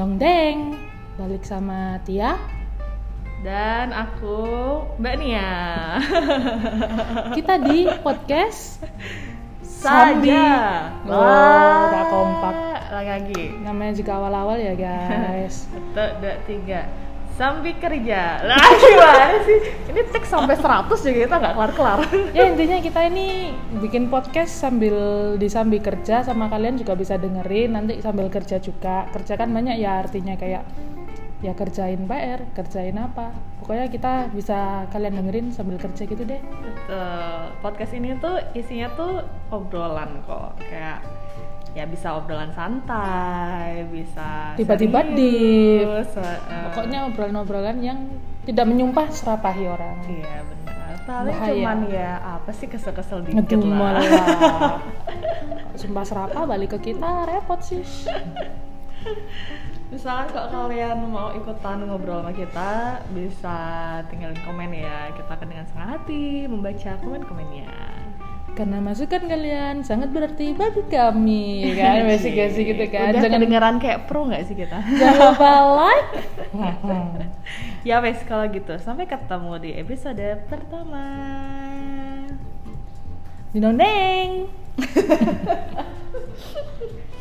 Dinong Deng, balik sama Tia dan aku Mbak Nia. Kita di podcast Saja. Gak kompak. Lagi. Namanya juga awal-awal ya guys. 1, 2, 3. Sambil kerja. Lah gimana sih? Ini teks sampai 100 juga kita nggak kelar-kelar. Ya intinya kita ini bikin podcast sambil kerja, sama kalian juga bisa dengerin nanti sambil kerja juga. Kerja kan banyak ya, artinya kayak ya kerjain PR, kerjain apa. Pokoknya kita bisa kalian dengerin sambil kerja gitu deh. Betul. Podcast ini tuh isinya tuh obrolan kok. Kayak ya bisa obrolan santai, bisa tiba-tiba serius, pokoknya obrolan-obrolan yang tidak menyumpah serapahi orang. Iya benar. Paling Bahaya. cuman ya apa sih kesel-kesel dikit Ngedumel lah. lah. Sumpah serapa balik ke kita repot sih. Misalkan kalau kalian mau ikutan ngobrol sama kita, bisa tinggalin komen ya. Kita akan dengan senang hati membaca komen-komennya. Karena masukan kalian sangat berarti bagi kami, kan? Basic-basic gitu kan. Udah Jangan kedengeran kayak pro nggak sih kita? jangan lupa like. Ya wes kalau gitu, sampai ketemu di episode pertama. Dinondeng.